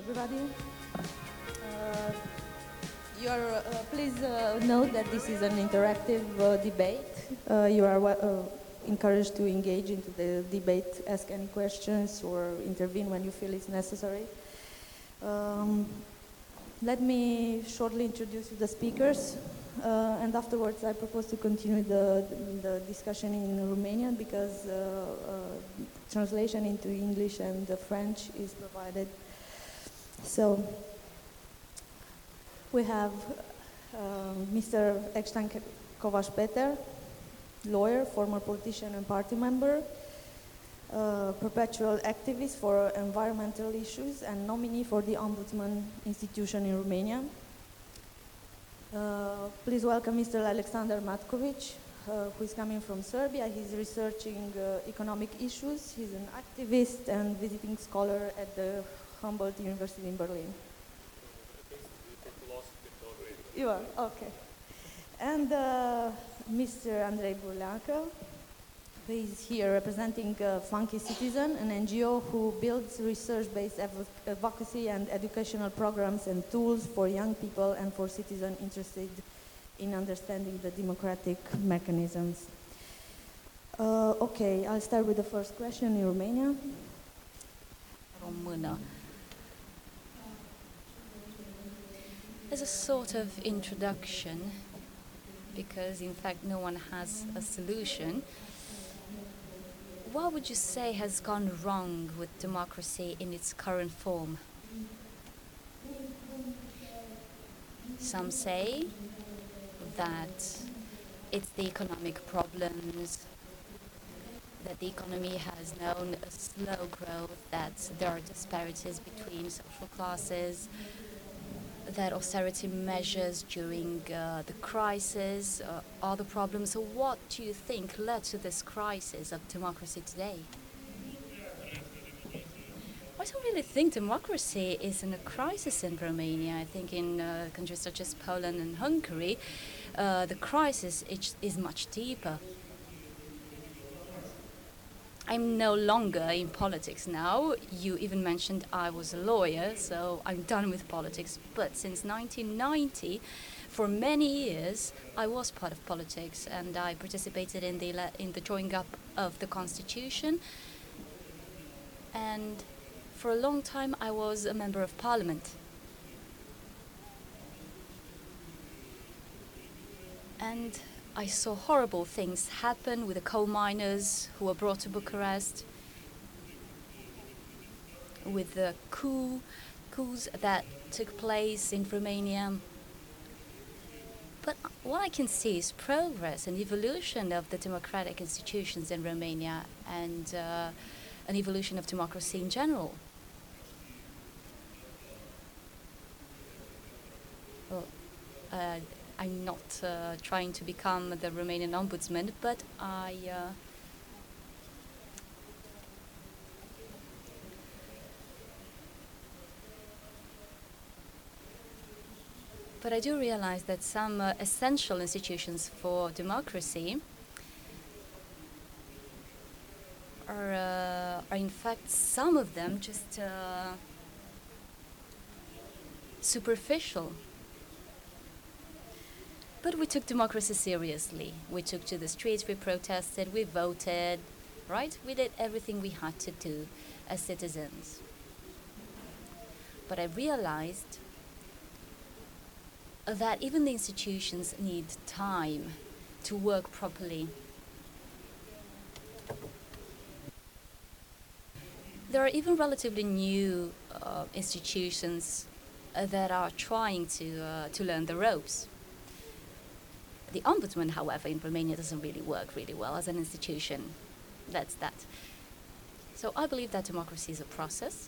everybody. Please note that this is an interactive debate. You are encouraged to engage into the debate, ask any questions, or intervene when you feel it's necessary. Let me shortly introduce you the speakers, and afterwards I propose to continue the discussion in Romanian because translation into English and French is provided. So we have Mr. Ekstan Kovacs Peter, lawyer, former politician and party member, perpetual activist for environmental issues and nominee for the Ombudsman institution in Romania. Please welcome Mr. Alexander Matkovic, who is coming from Serbia. He's researching economic issues. He's an activist and visiting scholar at the Humboldt University in Berlin. You are? Okay. And Mr. Andrei Burleacă, who is here representing Funky Citizen, an NGO who builds research-based advocacy and educational programs and tools for young people and for citizens interested in understanding the democratic mechanisms. Okay, I'll start with the first question in Romania. Română. As a sort of introduction, because in fact no one has a solution, what would you say has gone wrong with democracy in its current form? Some say that it's the economic problems, that the economy has known a slow growth, that there are disparities between social classes, that austerity measures during the crisis are the problems. So what do you think led to this crisis of democracy today? I don't really think democracy is in a crisis in Romania. I think in countries such as Poland and Hungary, the crisis is much deeper. I'm no longer in politics now. You even mentioned I was a lawyer, so I'm done with politics. But since 1990, for many years, I was part of politics, and I participated in the drawing up of the constitution. And for a long time, I was a member of parliament. And I saw horrible things happen with the coal miners who were brought to Bucharest, with the coups that took place in Romania. But what I can see is progress and evolution of the democratic institutions in Romania and an evolution of democracy in general. Well, I'm not trying to become the Romanian ombudsman, but I do realize that some essential institutions for democracy are in fact, some of them just superficial. But we took democracy seriously. We took to the streets, we protested, we voted, right? We did everything we had to do as citizens. But I realized that even the institutions need time to work properly. There are even relatively new institutions that are trying to learn the ropes. The ombudsman, however, in Romania doesn't really work really well as an institution. That's that. So I believe that democracy is a process.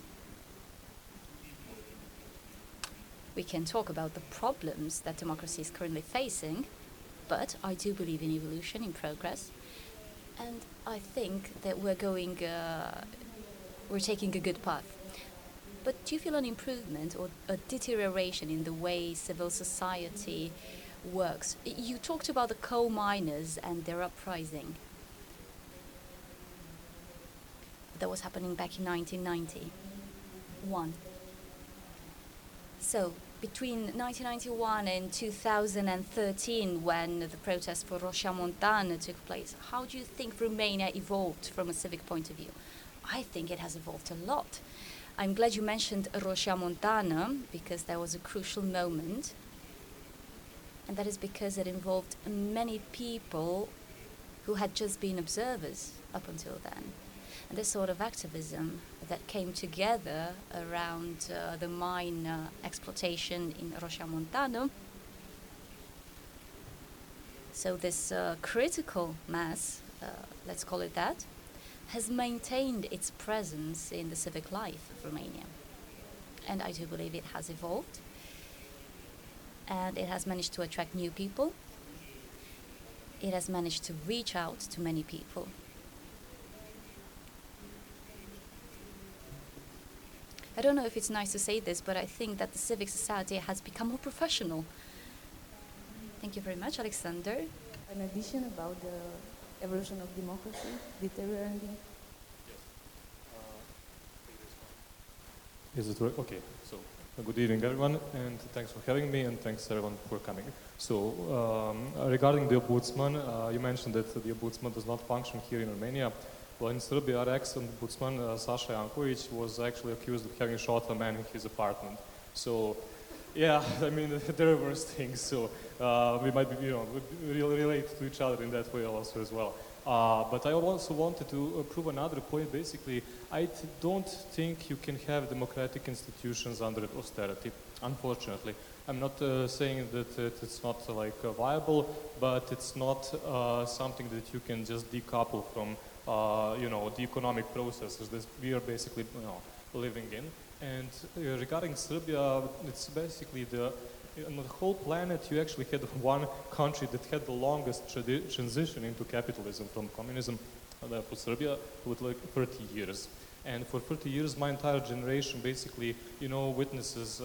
We can talk about the problems that democracy is currently facing, but I do believe in evolution, in progress, and I think that we're taking a good path. But do you feel an improvement or a deterioration in the way civil society works? You talked about the coal miners and their uprising. That was happening back in 1991. So, between 1991 and 2013, when the protest for Roșia Montană took place, how do you think Romania evolved from a civic point of view? I think it has evolved a lot. I'm glad you mentioned Roșia Montană, because that was a crucial moment. And that is because it involved many people who had just been observers up until then. And this sort of activism that came together around the mine exploitation in Roșia Montană. So this critical mass, let's call it that, has maintained its presence in the civic life of Romania. And I do believe it has evolved. And it has managed to attract new people. It has managed to reach out to many people. I don't know if it's nice to say this, but I think that the civic society has become more professional. Thank you very much, Alexander. An addition about the evolution of democracy, deteriorating. Is it work? Okay, so good evening everyone, and thanks for having me, and thanks everyone for coming. So regarding the ombudsman, you mentioned that the ombudsman does not function here in Romania. Well, in Serbia, our ex-ombudsman Saša Janković was actually accused of having shot a man in his apartment. So, yeah, I mean, there are worse things. So we might be, relate to each other in that way also as well. But I also wanted to prove another point. Basically, I don't think you can have democratic institutions under austerity, unfortunately. I'm not saying that it's not viable, but it's not something that you can just decouple from the economic processes that we are basically living in. And regarding Serbia, it's basically on the whole planet, you actually had one country that had the longest transition into capitalism from communism. For Serbia, with 30 years. And for 30 years, my entire generation basically, witnesses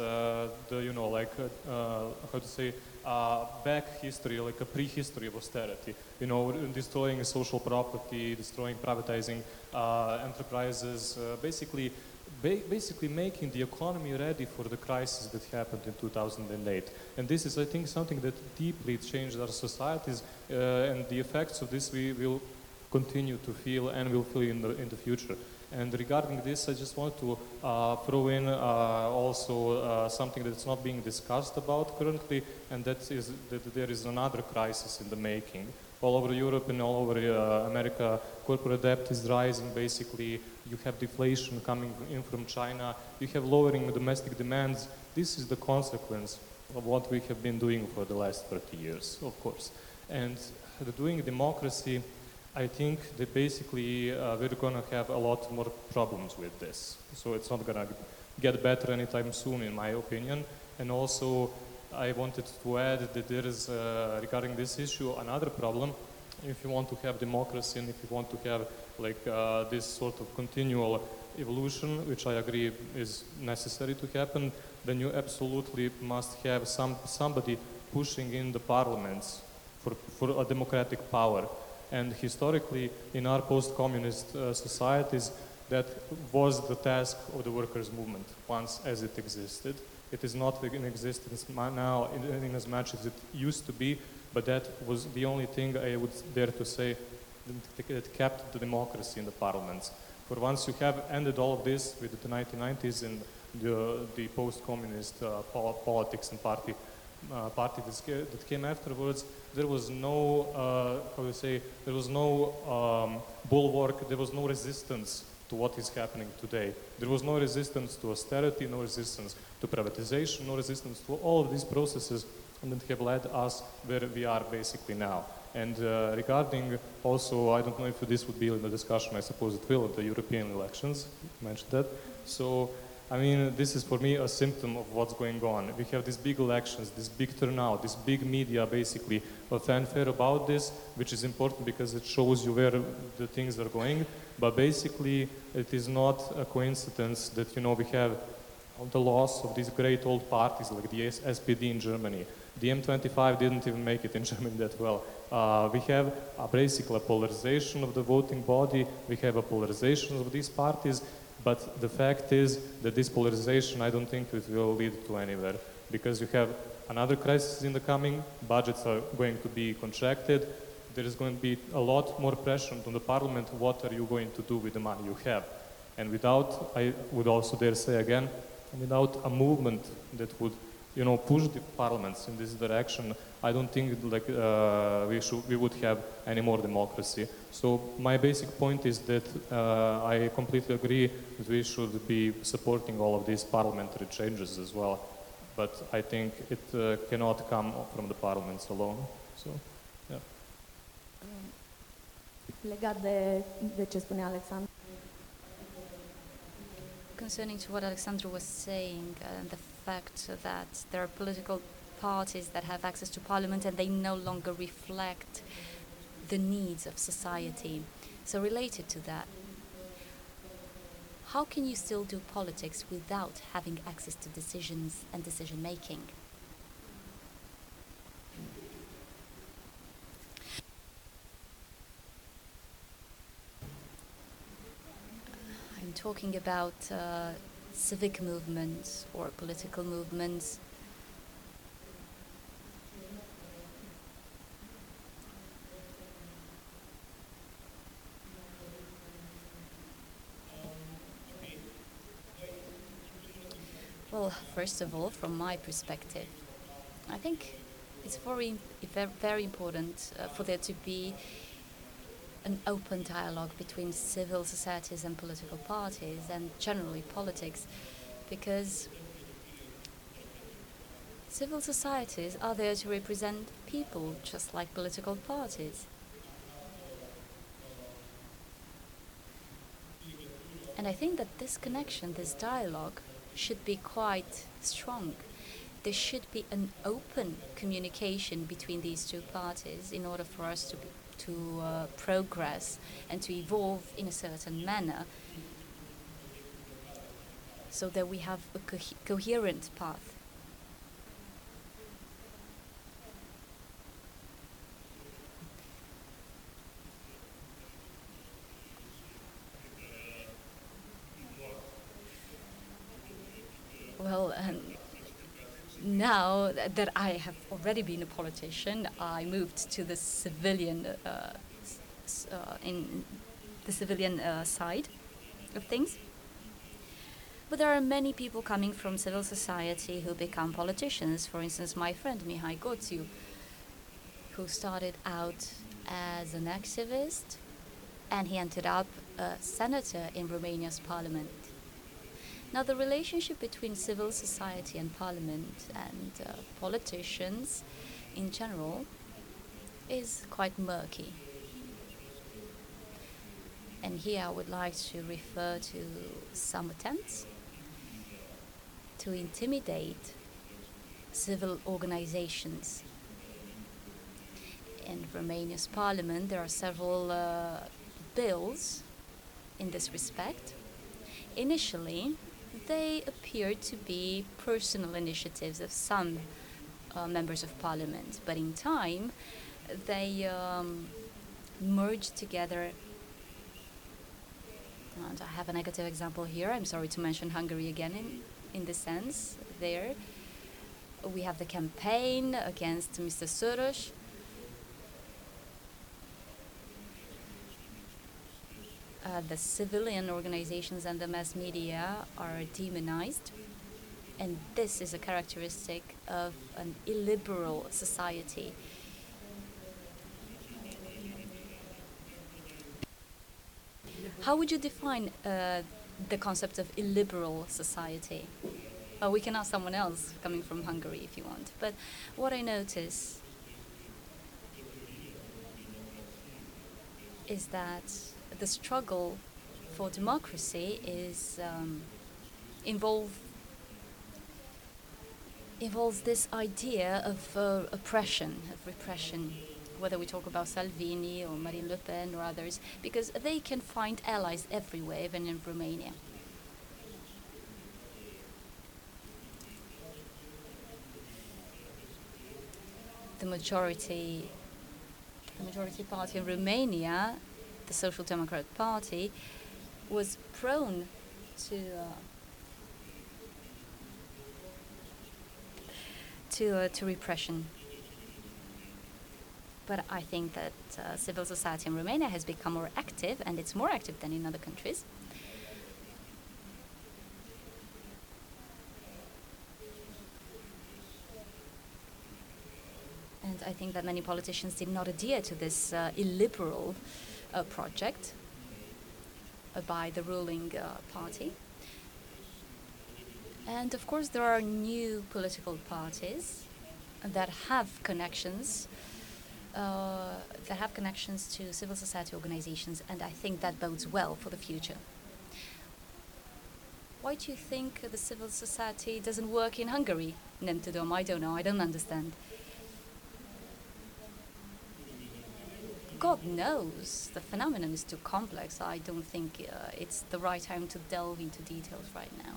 back history, like a prehistory of austerity. Destroying social property, destroying privatizing enterprises, basically making the economy ready for the crisis that happened in 2008. And this is, I think, something that deeply changed our societies, and the effects of this we will continue to feel and will feel in the future. And regarding this, I just want to throw in also something that's not being discussed about currently, and that is that there is another crisis in the making. All over Europe and all over America, corporate debt is rising. Basically, you have deflation coming in from China. You have lowering domestic demands. This is the consequence of what we have been doing for the last 30 years, of course. And doing democracy, I think that basically we're going to have a lot more problems with this. So it's not going to get better anytime soon, in my opinion. And also, I wanted to add that there is, regarding this issue, another problem. If you want to have democracy and if you want to have this sort of continual evolution, which I agree is necessary to happen, then you absolutely must have somebody pushing in the parliaments for a democratic power. And historically, in our post-communist societies, that was the task of the workers' movement once as it existed. It is not in existence now in as much as it used to be, but that was the only thing I would dare to say that kept the democracy in the parliaments. For once you have ended all of this with the 1990s and the post-communist politics and party that came afterwards, there was no, there was no bulwark, there was no resistance to what is happening today. There was no resistance to austerity, no resistance to privatization, no resistance to all of these processes that have led us where we are basically now. And regarding also, I don't know if this would be in the discussion, I suppose it will, the European elections, you mentioned that. So, I mean, this is for me a symptom of what's going on. We have these big elections, this big turnout, this big media basically, a fanfare about this, which is important because it shows you where the things are going. But basically, it is not a coincidence that, we have the loss of these great old parties like the SPD in Germany. The M25 didn't even make it in Germany that well. We have basically a polarization of the voting body. We have a polarization of these parties. But the fact is that this polarization, I don't think it will lead to anywhere, because you have another crisis in the coming, budgets are going to be contracted, there is going to be a lot more pressure on the parliament, what are you going to do with the money you have? And without, I would also dare say again, without a movement that would, you know, push the parliaments in this direction, I don't think like we would have any more democracy. So my basic point is that I completely agree that we should be supporting all of these parliamentary changes as well. But I think it cannot come from the parliaments alone. So, yeah. Legat de ce spunea Alexandru. Concerning to what Alexandru was saying, the fact that there are political parties that have access to parliament and they no longer reflect the needs of society. So related to that, how can you still do politics without having access to decisions and decision making? I'm talking about civic movements or political movements. Well, first of all, from my perspective, I think it's very important for there to be an open dialogue between civil societies and political parties, and generally politics, because civil societies are there to represent people, just like political parties. And I think that this connection, this dialogue, should be quite strong. There should be an open communication between these two parties in order for us to progress and to evolve in a certain manner, so that we have a coherent path. Well, now that I have already been a politician, I moved to the civilian side of things. But there are many people coming from civil society who become politicians. For instance, my friend Mihai Goțiu, who started out as an activist, and he ended up a senator in Romania's parliament. Now, the relationship between civil society and parliament and politicians in general is quite murky. And here I would like to refer to some attempts to intimidate civil organizations. In Romania's parliament, there are several bills in this respect. Initially, they appeared to be personal initiatives of some members of parliament, but in time they merged together. And I have a negative example here. I'm sorry to mention Hungary again in this sense. There we have the campaign against Mr. Soros. The civilian organizations and the mass media are demonized, and this is a characteristic of an illiberal society. How would you define the concept of illiberal society? We can ask someone else coming from Hungary if you want, but what I notice is that the struggle for democracy is involves this idea of oppression, of repression, whether we talk about Salvini or Marine Le Pen or others, because they can find allies everywhere, even in Romania. The majority party in Romania, the Social Democrat Party, was prone to repression. But I think that civil society in Romania has become more active, and it's more active than in other countries. And I think that many politicians did not adhere to this illiberal project by the ruling party. And of course, there are new political parties that have connections to civil society organizations, and I think that bodes well for the future. Why do you think the civil society doesn't work in Hungary? Nem tudom, I don't know, I don't understand. God knows, the phenomenon is too complex. I don't think it's the right time to delve into details right now.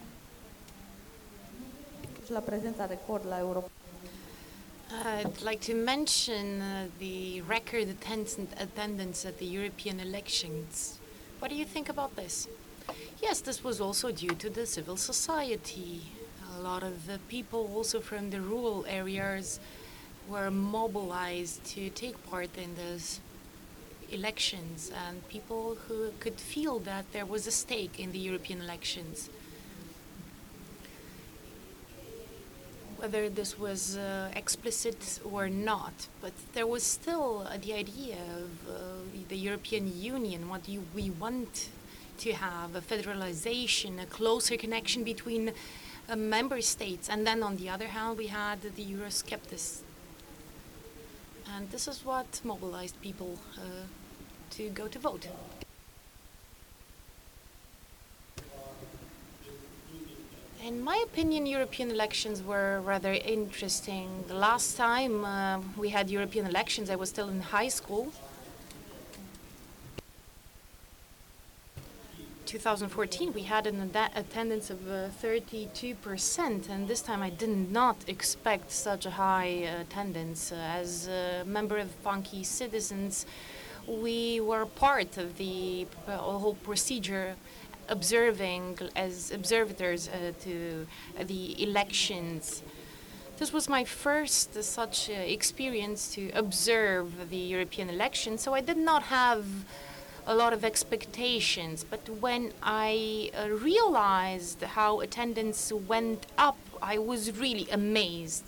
La prezența record la Europa. I'd like to mention the record attendance at the European elections. What do you think about this? Yes, this was also due to the civil society. A lot of the people also from the rural areas were mobilized to take part in those elections, and people who could feel that there was a stake in the European elections. Whether this was explicit or not, but there was still the idea of the European Union. What do we want to have? A federalization, a closer connection between member states. And then on the other hand, we had the Eurosceptics. And this is what mobilized people to go to vote. In my opinion, European elections were rather interesting. The last time we had European elections, I was still in high school. 2014, we had an attendance of 32%, and this time I did not expect such a high attendance. As a member of Funky Citizens, we were part of the whole procedure, observing as observers to the elections. This was my first such experience to observe the European elections, so I did not have a lot of expectations. But when I realized how attendance went up, I was really amazed.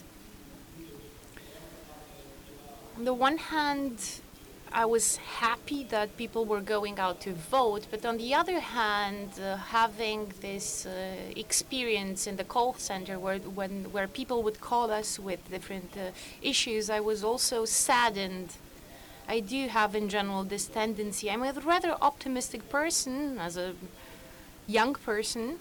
On the one hand, I was happy that people were going out to vote, but on the other hand, having this experience in the call center where people would call us with different issues, I was also saddened. I do have in general this tendency. I'm a rather optimistic person as a young person,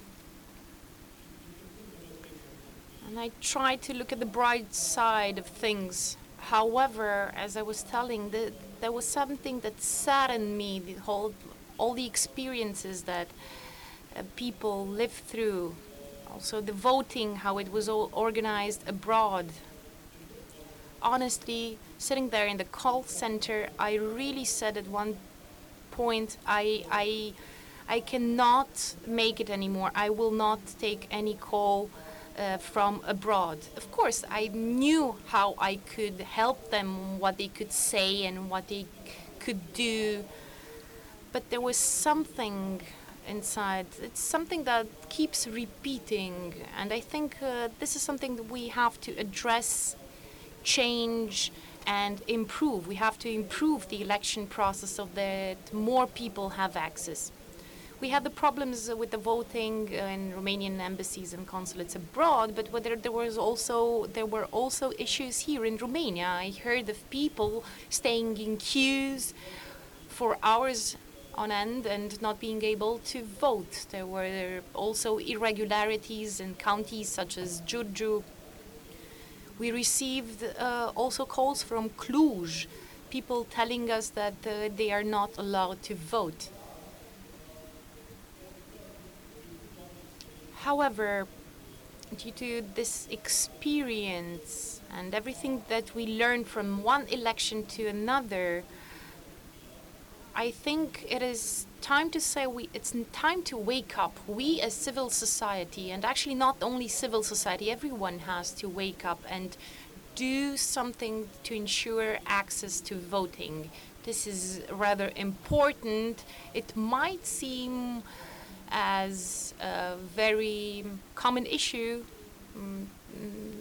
and I try to look at the bright side of things. However, as I was telling, there was something that saddened me, all the experiences that people lived through. Also the voting, how it was all organized abroad. Honestly, sitting there in the call center, I really said at one point, I cannot make it anymore. I will not take any call from abroad. Of course, I knew how I could help them, what they could say and what they could do, but there was something inside. It's something that keeps repeating, and I think this is something that we have to address, change, and improve. We have to improve the election process so that more people have access. We had the problems with the voting in Romanian embassies and consulates abroad, but whether there were also issues here in Romania. I heard of people staying in queues for hours on end and not being able to vote. There were also irregularities in counties such as Giurgiu. We received also calls from Cluj, people telling us that they are not allowed to vote. However, due to this experience and everything that we learned from one election to another, I think it is time to say it's time to wake up. We as civil society, and actually not only civil society, everyone has to wake up and do something to ensure access to voting. This is rather important. It might seem as a very common issue. Mm, mm.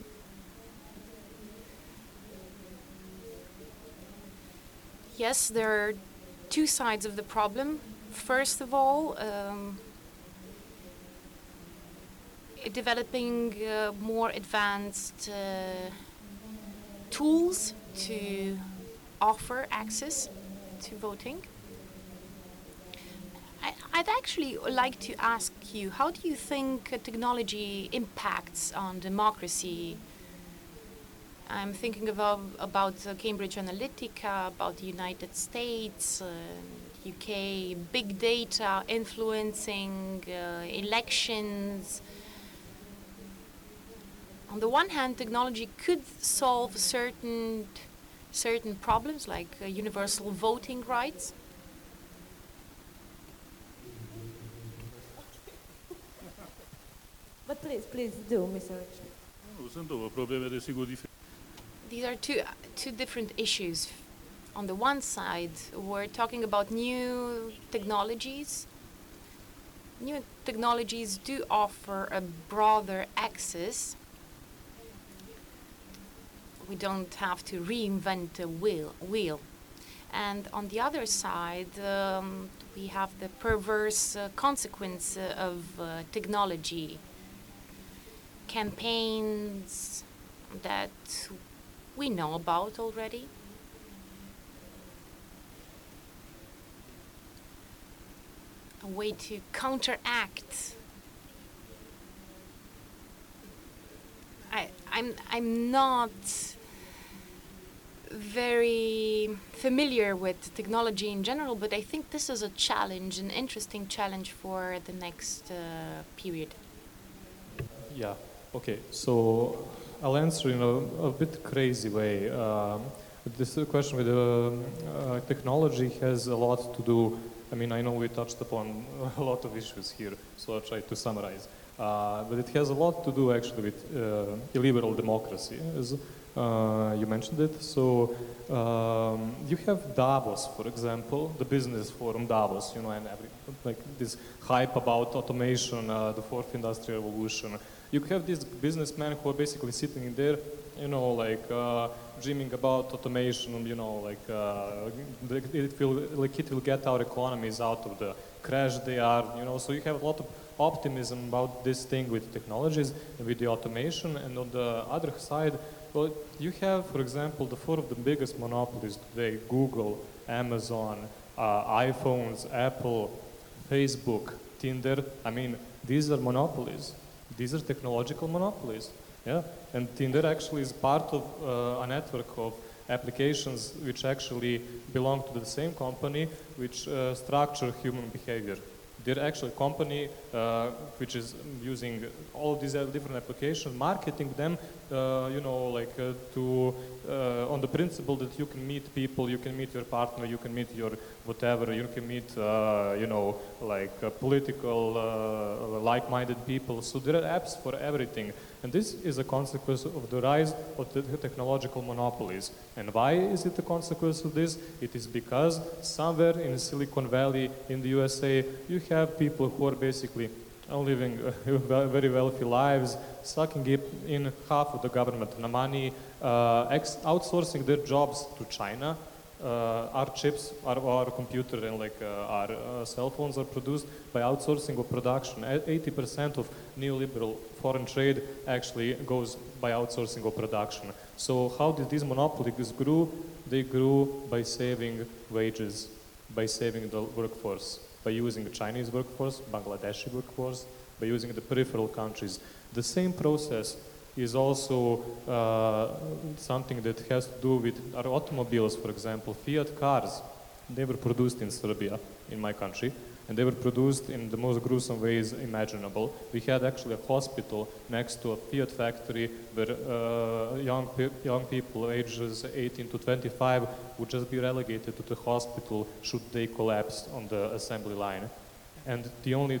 Yes, there are two sides of the problem. First of all, developing more advanced tools to offer access to voting. I'd actually like to ask you, how do you think technology impacts on democracy? I'm thinking about Cambridge Analytica, about the United States, UK, big data influencing elections. On the one hand, technology could solve certain problems like universal voting rights. But please do, Mr. Richard. Sunt două probleme, desigur, diferite. These are two different issues. On the one side, we're talking about new technologies. New technologies do offer a broader access. We don't have to reinvent the wheel. And on the other side, we have the perverse consequence of technology. Campaigns that we know about already. A way to counteract. I'm not very familiar with technology in general, but I think this is a challenge, an interesting challenge for the next period. Yeah, okay, so I'll answer in a bit crazy way. This question with technology has a lot to do. I mean, I know we touched upon a lot of issues here, so I'll try to summarize. But it has a lot to do actually with illiberal democracy, as you mentioned it. So you have Davos, for example, the business forum Davos, and like this hype about automation, the fourth industrial revolution. You have these businessmen who are basically sitting in there, dreaming about automation, it will get our economies out of the crash they are, so you have a lot of optimism about this thing with technologies and with the automation. And on the other side, well, you have, for example, the four of the biggest monopolies today: Google, Amazon, iPhones, Apple, Facebook, Tinder. I mean, these are monopolies. These are technological monopolies. Yeah, and Tinder actually is part of a network of applications which actually belong to the same company, which structure human behavior. They're actually a company which is using all these different applications, marketing them, on the principle that you can meet people, you can meet your partner, you can meet your whatever, you can meet, political, like-minded people. So there are apps for everything. And this is a consequence of the rise of the technological monopolies. And why is it a consequence of this? It is because somewhere in Silicon Valley in the USA, you have people who are basically living very wealthy lives, sucking in half of the government money, outsourcing their jobs to China. Our chips, our computer, and our cell phones are produced by outsourcing of production. 80% of neoliberal foreign trade actually goes by outsourcing of production. So how did these monopolies grow? They grew by saving wages, by saving the workforce, by using the Chinese workforce, Bangladeshi workforce, by using the peripheral countries. The same process is also something that has to do with our automobiles, for example. Fiat cars, they were produced in Serbia, in my country. and they were produced in the most gruesome ways imaginable. We had actually a hospital next to a Fiat factory where young people ages 18 to 25 would just be relegated to the hospital should they collapse on the assembly line. And the only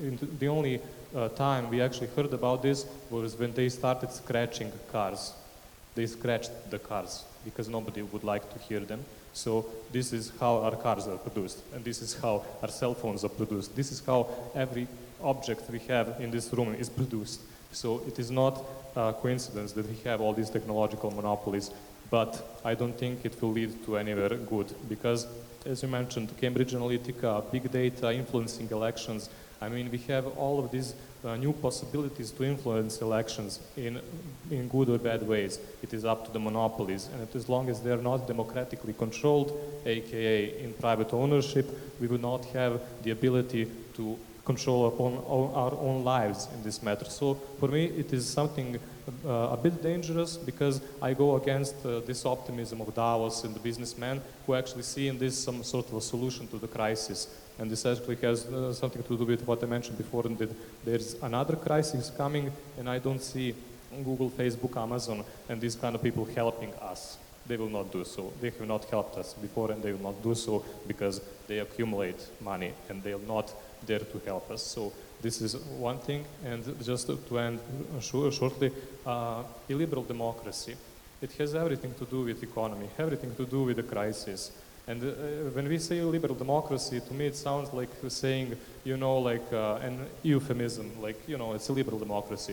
time we actually heard about this was when they started scratching cars. They scratched the cars because nobody would like to hear them. So this is how our cars are produced, and this is how our cell phones are produced. This is how every object we have in this room is produced. So it is not a coincidence that we have all these technological monopolies, but I don't think it will lead to anywhere good because, as you mentioned, Cambridge Analytica, big data, influencing elections. I mean, we have all of these new possibilities to influence elections in good or bad ways. It is up to the monopolies, and as long as they are not democratically controlled, aka in private ownership, we will not have the ability to control upon our own lives in this matter. So for me, it is something a bit dangerous because I go against this optimism of Davos and the businessmen who actually see in this some sort of a solution to the crisis. And this actually has something to do with what I mentioned before, and that there's another crisis coming, and I don't see Google, Facebook, Amazon, and these kind of people helping us. They will not do so. They have not helped us before, and they will not do so because they accumulate money, and they are not there to help us. So this is one thing, and just to end shortly, illiberal democracy. It has everything to do with economy, everything to do with the crisis. And when we say liberal democracy, to me it sounds like saying, like an euphemism, like, it's a liberal democracy.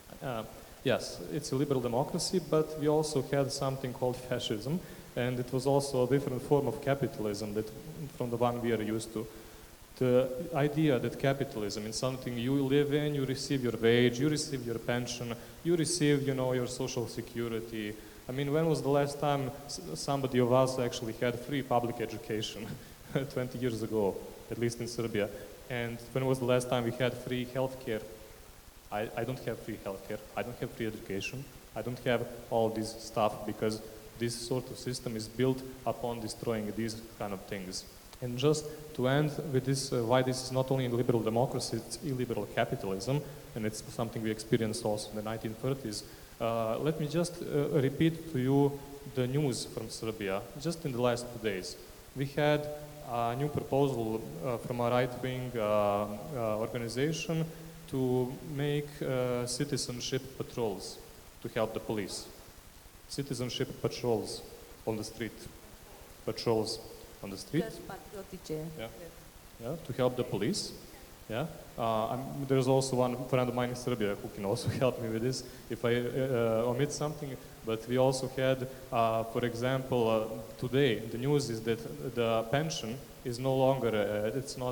Yes, it's a liberal democracy, but we also had something called fascism, and it was also a different form of capitalism from the one we are used to. The idea that capitalism is something you live in, you receive your wage, you receive your pension, you receive, your social security. I mean, when was the last time somebody of us actually had free public education? 20 years ago, at least in Serbia. And when was the last time we had free healthcare? I don't have free healthcare. I don't have free education. I don't have all this stuff because this sort of system is built upon destroying these kind of things. And just to end with this, why this is not only liberal democracy, it's illiberal capitalism, and it's something we experienced also in the 1930s. Let me just repeat to you the news from Serbia. Just in the last 2 days, we had a new proposal from a right-wing organization to make citizenship patrols to help the police. Citizenship patrols on the street. Patrols on the street. Yeah, to help the police. Yeah. There's also one friend of mine in Serbia who can also help me with this if I omit something. But we also had, for example, today the news is that the pension is no longer, it's not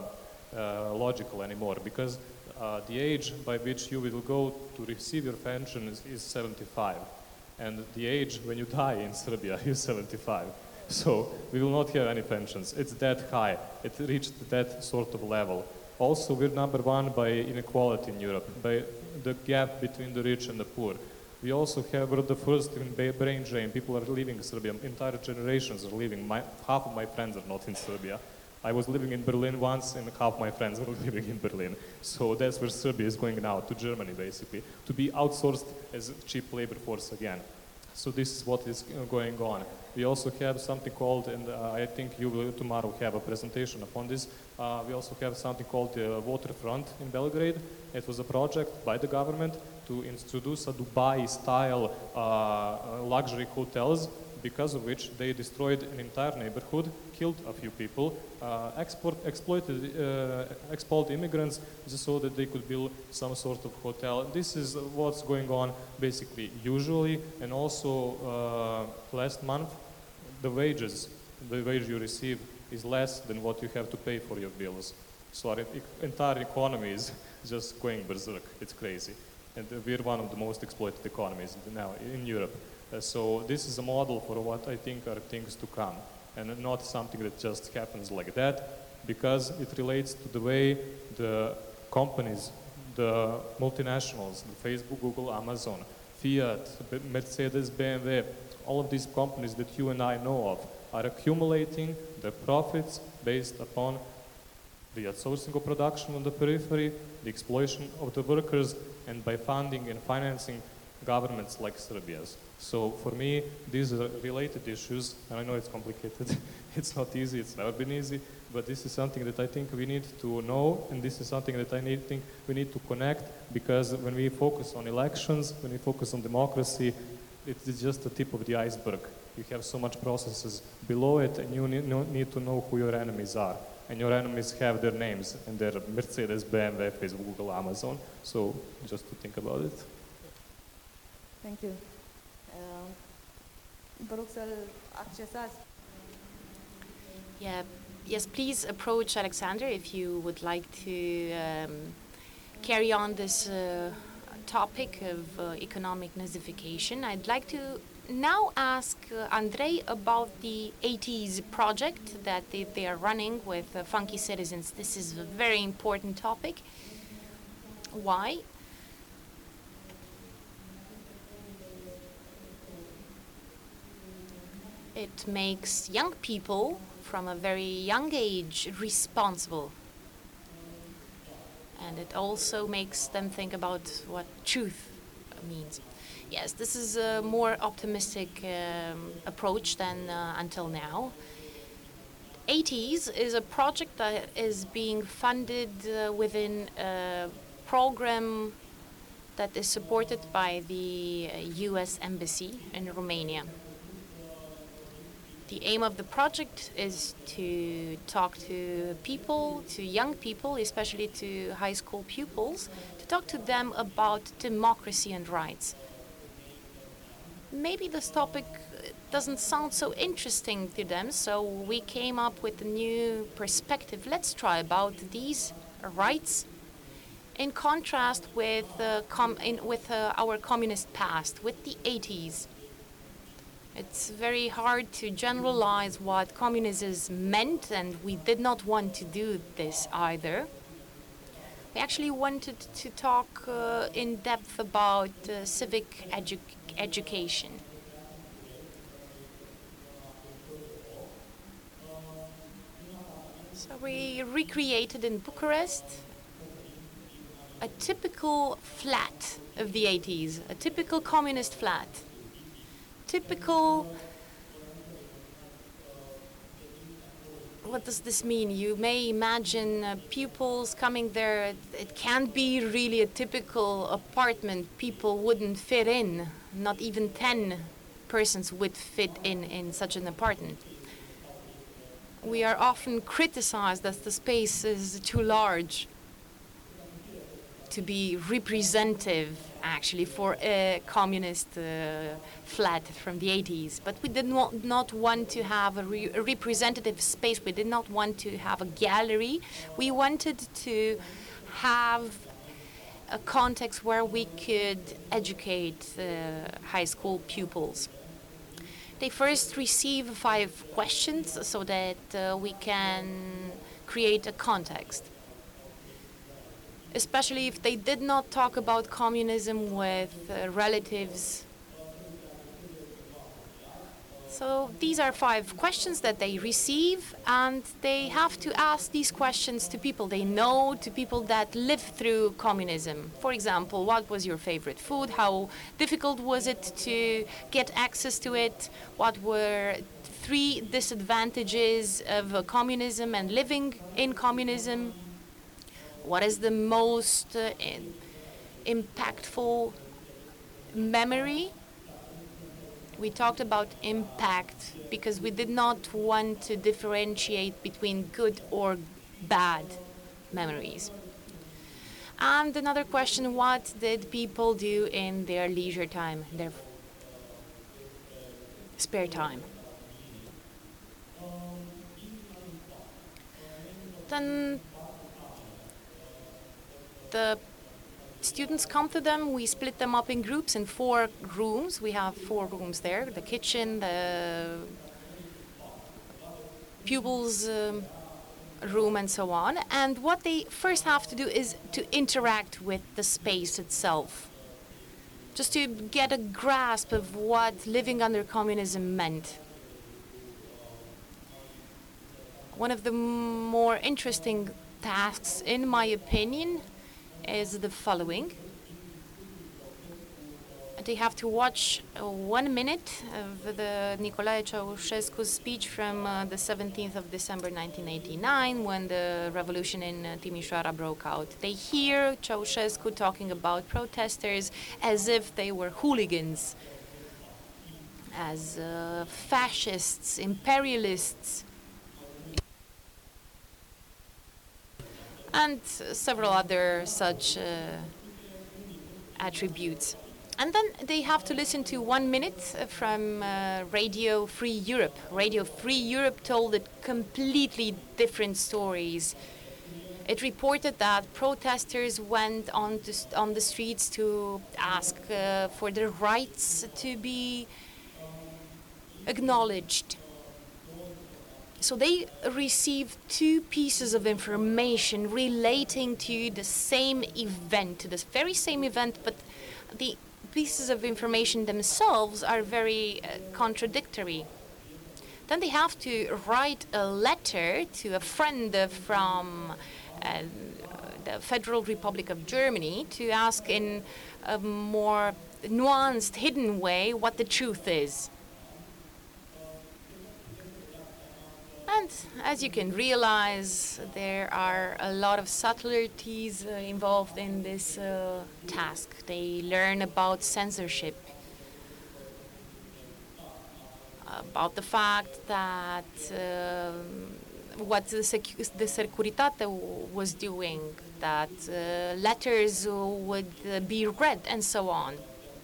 logical anymore because the age by which you will go to receive your pension is 75. And the age when you die in Serbia is 75. So we will not have any pensions. It's that high. It reached that sort of level. Also, we're number one by inequality in Europe, by the gap between the rich and the poor. We also we're the first in brain drain. People are leaving Serbia. Entire generations are leaving. Half of my friends are not in Serbia. I was living in Berlin once, and half my friends were living in Berlin. So that's where Serbia is going now, to Germany, basically, to be outsourced as a cheap labor force again. So this is what is going on. We also have something called, and I think you will tomorrow have a presentation upon this, we also have something called the Waterfront in Belgrade. It was a project by the government to introduce a Dubai-style luxury hotels, because of which they destroyed an entire neighborhood, killed a few people, expelled immigrants just so that they could build some sort of hotel. This is what's going on basically usually, and also last month the wage you receive is less than what you have to pay for your bills. So our entire economy is just going berserk. It's crazy. And we're one of the most exploited economies now in Europe. So this is a model for what I think are things to come, and not something that just happens like that, because it relates to the way the companies, the multinationals, the Facebook, Google, Amazon, Fiat, Mercedes, BMW, all of these companies that you and I know of are accumulating their profits based upon the outsourcing of production on the periphery, the exploitation of the workers, and by funding and financing governments like Serbia's. So for me, these are related issues, and I know it's complicated. It's not easy, it's never been easy, but this is something that I think we need to know, and this is something that I think we need to connect, because when we focus on elections, when we focus on democracy, it's just the tip of the iceberg. You have so much processes below it, and you need to know who your enemies are. And your enemies have their names, and they're Mercedes, BMW, Facebook, Google, Amazon. So just to think about it. Thank you. Vă rog să-l accesați. Yeah. Yes, please approach Alexander if you would like to carry on this topic of economic nazification. I'd like to now ask Andrei about the 80s project that they are running with Funky Citizens. This is a very important topic. Why? It makes young people from a very young age responsible. And it also makes them think about what truth means. Yes, this is a more optimistic approach than until now. 80s is a project that is being funded within a program that is supported by the US Embassy in Romania. The aim of the project is to talk to people, to young people, especially to high school pupils, to talk to them about democracy and rights. Maybe this topic doesn't sound so interesting to them, so we came up with a new perspective. Let's try about these rights in contrast with our communist past, with the 80s. It's very hard to generalize what communism meant, and we did not want to do this either. We actually wanted to talk in depth about civic education. So we recreated in Bucharest a typical flat of the 80s, a typical communist flat. Typical, what does this mean? You may imagine pupils coming there. It can't be really a typical apartment. People wouldn't fit in. Not even 10 persons would fit in such an apartment. We are often criticized that the space is too large to be representative, actually, for a communist flat from the 80s. But we did not want to have a representative space. We did not want to have a gallery. We wanted to have a context where we could educate high school pupils. They first receive 5 questions so that we can create a context. Especially if they did not talk about communism with relatives. So these are 5 questions that they receive, and they have to ask these questions to people they know, to people that lived through communism. For example, what was your favorite food? How difficult was it to get access to it? What were 3 disadvantages of communism and living in communism? What is the most impactful memory? We talked about impact because we did not want to differentiate between good or bad memories. And another question, what did people do in their leisure time, their spare time? Then the students come to them. We split them up in groups in 4 rooms. We have 4 rooms there, the kitchen, the pupils' room, and so on. And what they first have to do is to interact with the space itself, just to get a grasp of what living under communism meant. One of the more interesting tasks, in my opinion, is the following. They have to watch 1 minute of the Nicolae Ceausescu's speech from the 17th of December 1989, when the revolution in Timișoara broke out. They hear Ceausescu talking about protesters as if they were hooligans, as fascists, imperialists, and several other such attributes. And then they have to listen to 1 minute from Radio Free Europe. Radio Free Europe told it completely different stories. It reported that protesters went on the streets to ask for their rights to be acknowledged. So they received 2 pieces of information relating to the same event, to this very same event, but the pieces of information themselves are very contradictory. Then they have to write a letter to a friend from the Federal Republic of Germany to ask in a more nuanced, hidden way what the truth is. And as you can realize, there are a lot of subtleties involved in this task. They learn about censorship, about the fact that what the Securitate was doing, that letters would be read, and so on.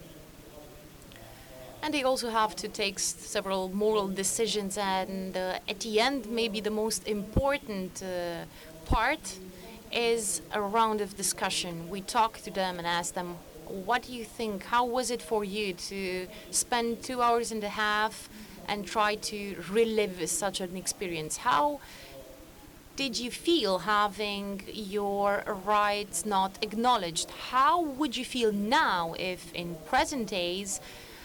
And they also have to take several moral decisions, and at the end, maybe the most important part is a round of discussion. We talk to them and ask them, what do you think? How was it for you to spend 2 hours and a half and try to relive such an experience? How did you feel having your rights not acknowledged? How would you feel now if in present days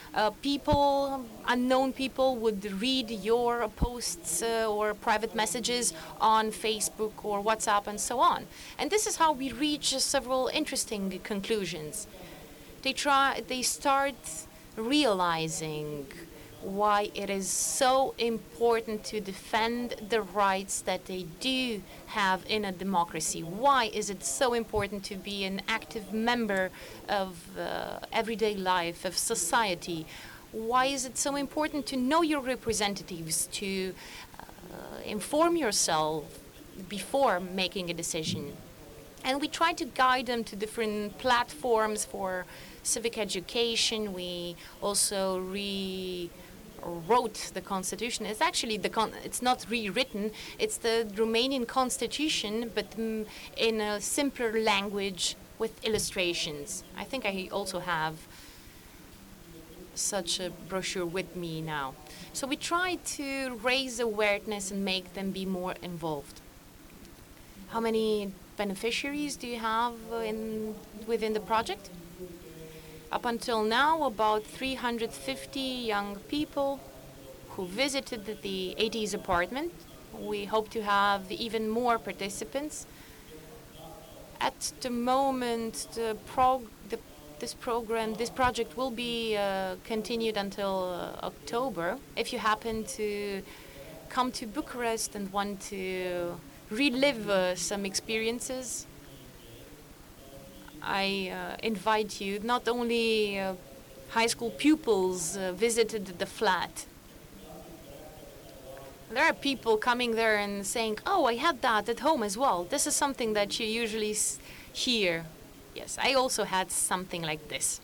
unknown people would read your posts or private messages on Facebook or WhatsApp and so on? And this is how we reach several interesting conclusions. They start realizing why it is so important to defend the rights that they do have in a democracy. Why is it so important to be an active member of everyday life, of society? Why is it so important to know your representatives, to inform yourself before making a decision? And we try to guide them to different platforms for civic education. We also wrote the constitution. It's actually it's not rewritten. It's the Romanian constitution, but in a simpler language with illustrations. I think I also have such a brochure with me now. So we try to raise awareness and make them be more involved. How many beneficiaries do you have within the project? Up until now, about 350 young people who visited the 80s apartment. We hope to have even more participants. At the moment, this project will be continued until October. If you happen to come to Bucharest and want to relive some experiences, I invite you. Not only high school pupils visited the flat. There are people coming there and saying, oh, I had that at home as well. This is something that you usually hear. Yes, I also had something like this.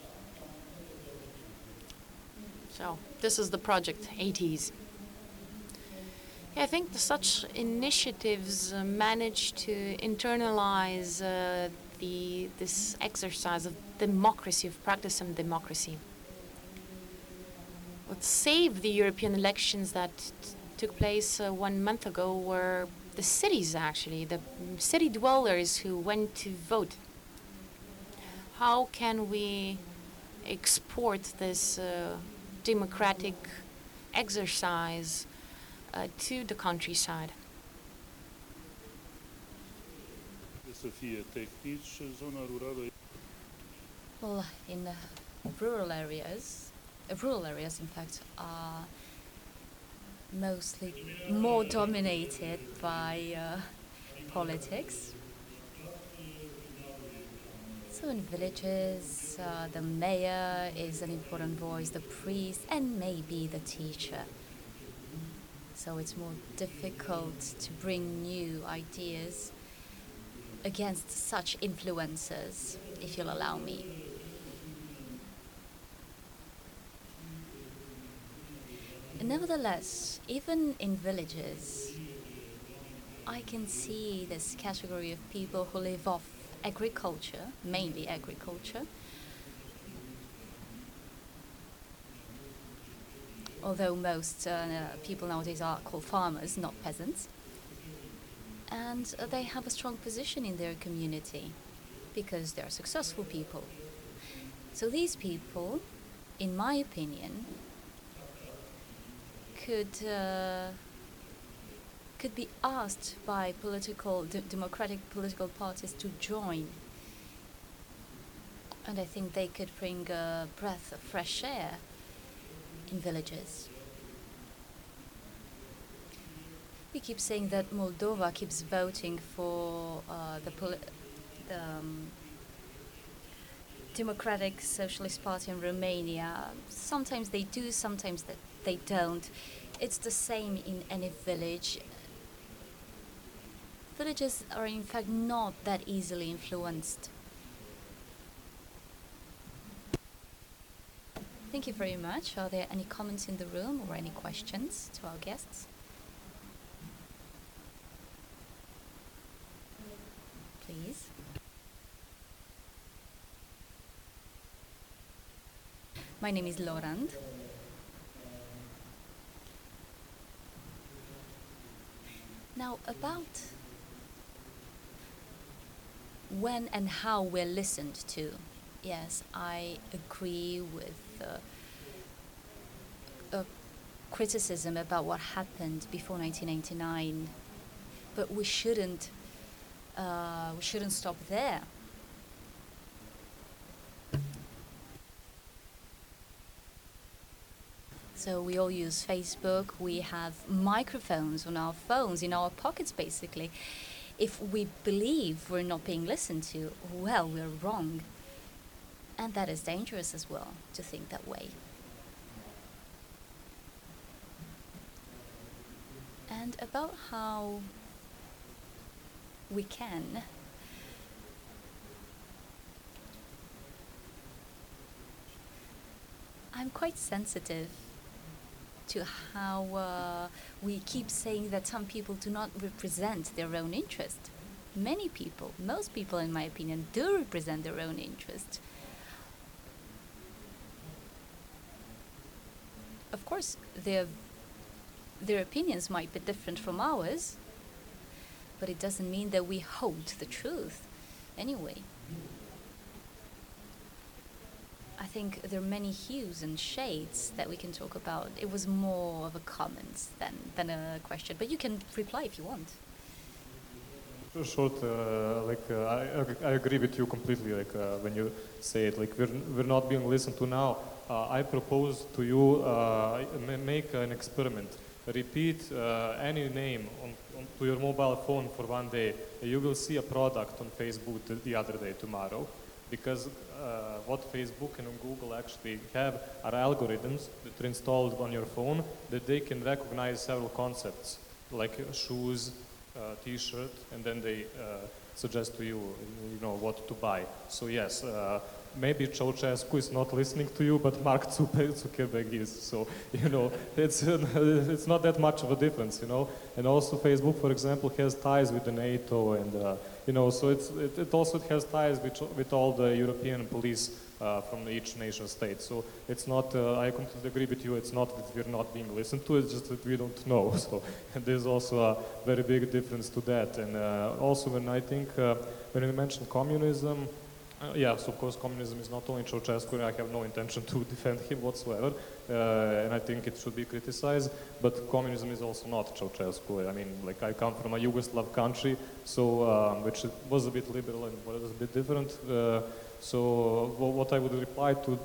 So this is the project, 80s. Yeah, I think such initiatives manage to internalize this exercise of democracy, of practice and democracy. What saved the European elections that took place 1 month ago were the cities, actually, the city dwellers who went to vote. How can we export this democratic exercise to the countryside? să fie tehnici, zona rurală Well, in rural areas, in fact, are mostly more dominated by politics. So in villages, the mayor is an important voice, the priest, and maybe the teacher. So it's more difficult to bring new ideas against such influencers, if you'll allow me. Nevertheless, even in villages, I can see this category of people who live off agriculture, mainly agriculture. Although most people nowadays are called farmers, not peasants. And they have a strong position in their community because they're successful people. So these people, in my opinion, could be asked by democratic political parties to join. And I think they could bring a breath of fresh air in villages. We keep saying that Moldova keeps voting for the Democratic Socialist Party in Romania. Sometimes they do, sometimes they don't. It's the same in any village. Villages are in fact not that easily influenced. Thank you very much. Are there any comments in the room or any questions to our guests? Please. My name is Lorand. Now, about when and how we're listened to. Yes, I agree with criticism about what happened before 1999, but we shouldn't stop there. So we all use Facebook, we have microphones on our phones, in our pockets basically. If we believe we're not being listened to, well, we're wrong. And that is dangerous as well, to think that way. And about how we can I'm quite sensitive to how we keep saying that some people do not represent their own interest. Many people, most people in my opinion, do represent their own interest. Of course, their opinions might be different from ours, but it doesn't mean that we hold the truth anyway. I think there are many hues and shades that we can talk about. It was more of a comment than a question, but you can reply if you want. Short, I agree with you completely. When you say it, we're not being listened to now. I propose to you make an experiment. Repeat any name to your mobile phone for one day. You will see a product on Facebook the other day, tomorrow, because what Facebook and Google actually have are algorithms that are installed on your phone that they can recognize several concepts, like shoes, T-shirt, and then they suggest to you, what to buy. So yes, maybe Ceausescu is not listening to you, but Mark Zuckerberg is. So it's not that much of a difference, And also Facebook, for example, has ties with the NATO, and so it also has ties with all the European police from each nation state. So it's not. I completely agree with you. It's not that we're not being listened to. It's just that we don't know. So there's also a very big difference to that. And also when I think when you mentioned communism, Yes, of course, communism is not only Ceausescu, and I have no intention to defend him whatsoever, and I think it should be criticized, but communism is also not Ceausescu. I mean, like, I come from a Yugoslav country, so, which was a bit liberal and was a bit different, so what I would reply to,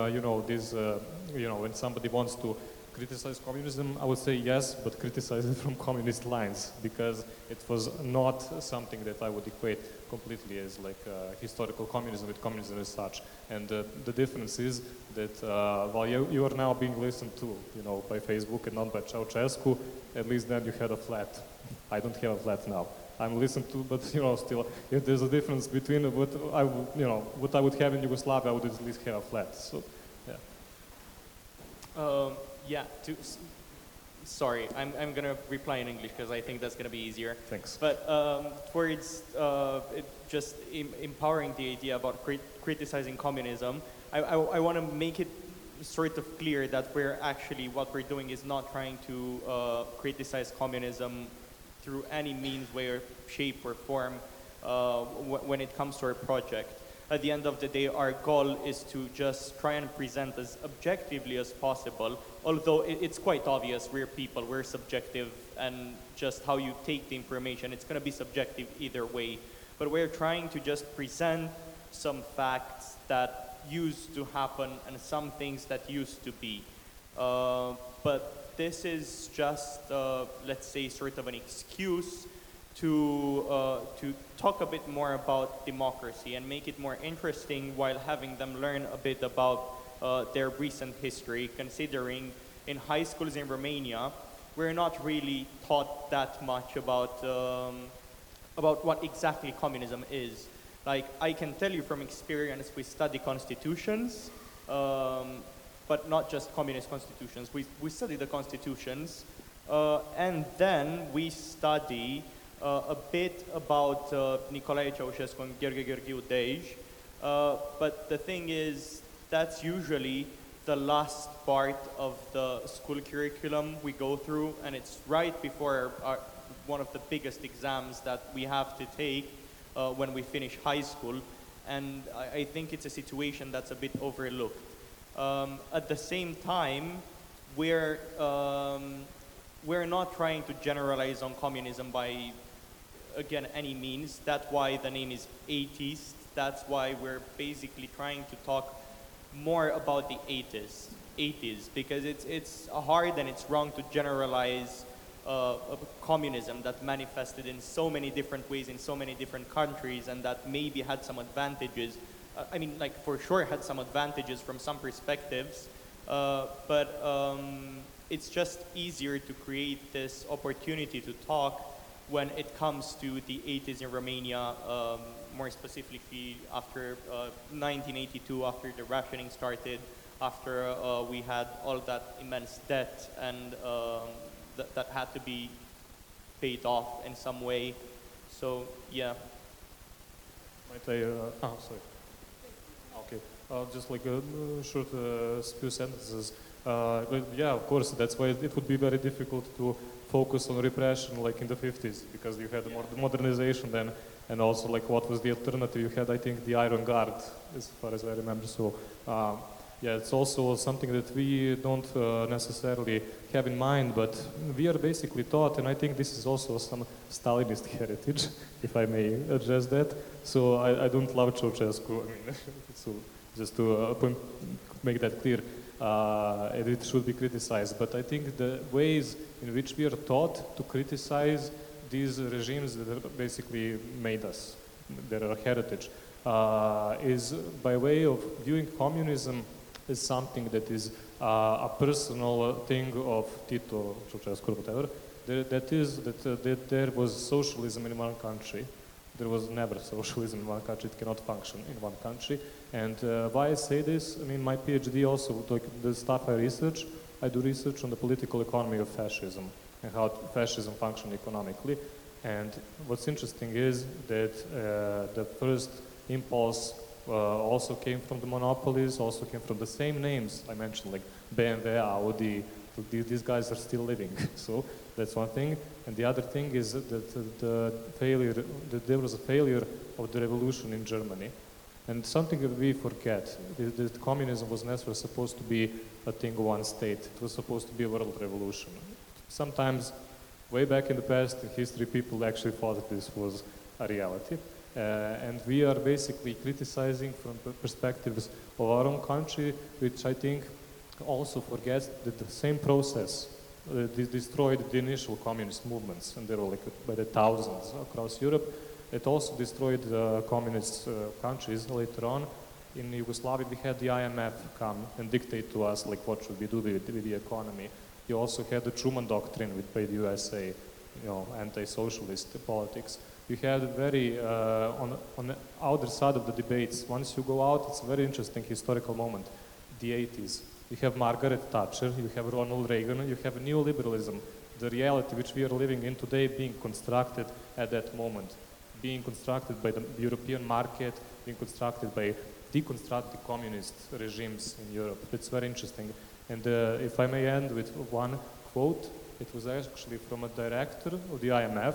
when somebody wants to criticize communism, I would say yes, but criticize it from communist lines, because it was not something that I would equate completely as like historical communism with communism as such. And the difference is that while you are now being listened to, by Facebook and not by Ceausescu, at least then you had a flat. I don't have a flat now. I'm listened to, but still, if there's a difference between what I would have in Yugoslavia, I would at least have a flat. So, yeah. Sorry, I'm going to reply in English because I think that's going to be easier. Thanks. But towards just empowering the idea about criticizing communism, I want to make it sort of clear that what we're doing is not trying to criticize communism through any means, way, or shape, or form when it comes to our project. At the end of the day, our goal is to just try and present as objectively as possible, although it's quite obvious we're people, we're subjective, and just how you take the information, it's going to be subjective either way. But we're trying to just present some facts that used to happen and some things that used to be. But this is just, let's say, sort of an excuse to talk a bit more about democracy and make it more interesting while having them learn a bit about their recent history, considering in high schools in Romania, we're not really taught that much about what exactly communism is. Like, I can tell you from experience, we study constitutions, but not just communist constitutions. We study the constitutions, and then we study a bit about Nicolae Ceausescu and Gheorghe Gheorghiu Dej, but the thing is, that's usually the last part of the school curriculum we go through, and it's right before one of the biggest exams that we have to take when we finish high school, and I think it's a situation that's a bit overlooked. At the same time, we're not trying to generalize on communism by, again, any means. That's why the name is atheist. That's why we're basically trying to talk more about the 80s, because it's hard and it's wrong to generalize communism that manifested in so many different ways in so many different countries, and that maybe had some advantages. I mean, like, for sure had some advantages from some perspectives, but it's just easier to create this opportunity to talk when it comes to the 80s in Romania, more specifically after 1982, after the rationing started, after we had all that immense debt and that had to be paid off in some way. So, yeah. Might I, sorry. Okay, just like a short few sentences. But yeah, of course, that's why it would be very difficult to focus on repression like in the 50s, because you had the modernization then, and also like what was the alternative? You had, I think, the Iron Guard, as far as I remember. So yeah, it's also something that we don't necessarily have in mind, but we are basically taught, and I think this is also some Stalinist heritage, if I may address that. So I don't love Ceausescu. I mean, so just to make that clear, it should be criticized. But I think the ways in which we are taught to criticize these regimes that basically made us, their heritage, is by way of viewing communism as something that is a personal thing of Tito, Ceausescu, whatever. That there was socialism in one country. There was never socialism in one country. It cannot function in one country. And why I say this, I mean, my PhD also, like the stuff I research, I do research on the political economy of fascism and how fascism functioned economically. And what's interesting is that the first impulse also came from the monopolies, also came from the same names I mentioned, like BMW, Audi. These guys are still living. So that's one thing. And the other thing is that there was a failure of the revolution in Germany. And something that we forget is that communism was never supposed to be a thing of one state. It was supposed to be a world revolution. Sometimes, way back in the past in history, people actually thought that this was a reality. And we are basically criticizing from the perspectives of our own country, which I think also forgets that the same process destroyed the initial communist movements, and there were like by the thousands across Europe. It also destroyed communist countries later on. In Yugoslavia, we had the IMF come and dictate to us like what should we do with the economy. You also had the Truman Doctrine by the USA, anti-socialist politics. You had very, on the other side of the debates, once you go out, it's a very interesting historical moment, the 80s. You have Margaret Thatcher, you have Ronald Reagan, you have neoliberalism, the reality which we are living in today being constructed at that moment, being constructed by the European market, being constructed by deconstructed communist regimes in Europe. It's very interesting. And if I may end with one quote, it was actually from a director of the IMF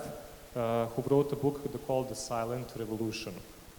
who wrote a book called The Silent Revolution.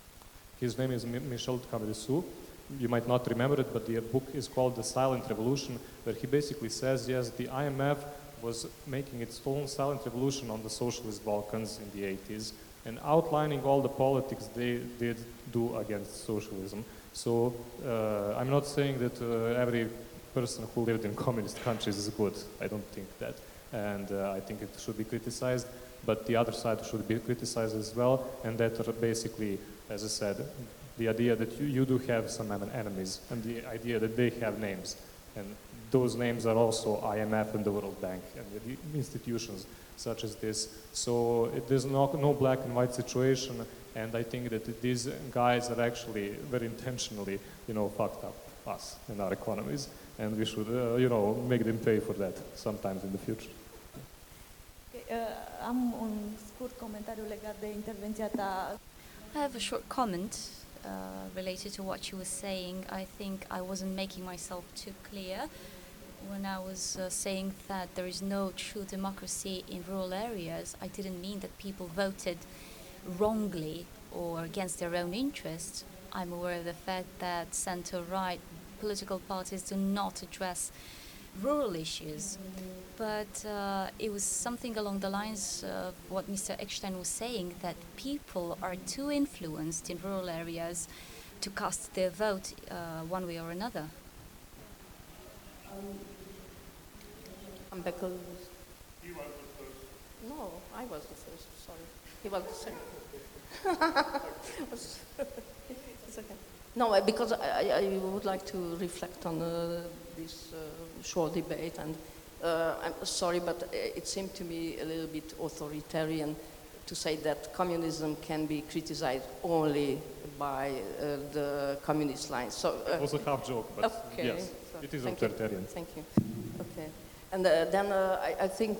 His name is Michel Cambrissou. You might not remember it, but the book is called The Silent Revolution, where he basically says, yes, the IMF was making its own silent revolution on the socialist Balkans in the 80s and outlining all the politics they did do against socialism. So I'm not saying that every person who lived in communist countries is good. I don't think that. And I think it should be criticized, but the other side should be criticized as well. And that are basically, as I said, the idea that you do have some enemies and the idea that they have names. And those names are also IMF and the World Bank and the institutions such as this. So there's no black and white situation, and I think that these guys are actually very intentionally, fucked up us and our economies, and we should, make them pay for that sometimes in the future. Am un scurt comentariu legat de intervenția ta. I have a short comment related to what you were saying. I think I wasn't making myself too clear when I was saying that there is no true democracy in rural areas. I didn't mean that people voted wrongly or against their own interests. I'm aware of the fact that center-right political parties do not address rural issues. But it was something along the lines of what Mr. Eckstein was saying, that people are too influenced in rural areas to cast their vote one way or another. Because he was the first. No, I was the first. Sorry, he was the second. It's okay. No, because I would like to reflect on this short debate, and I'm sorry, but it seemed to me a little bit authoritarian to say that communism can be criticized only by the communist lines. So it was a half joke, but okay. yes, So it is thank authoritarian. You. Thank you. Okay. And then I think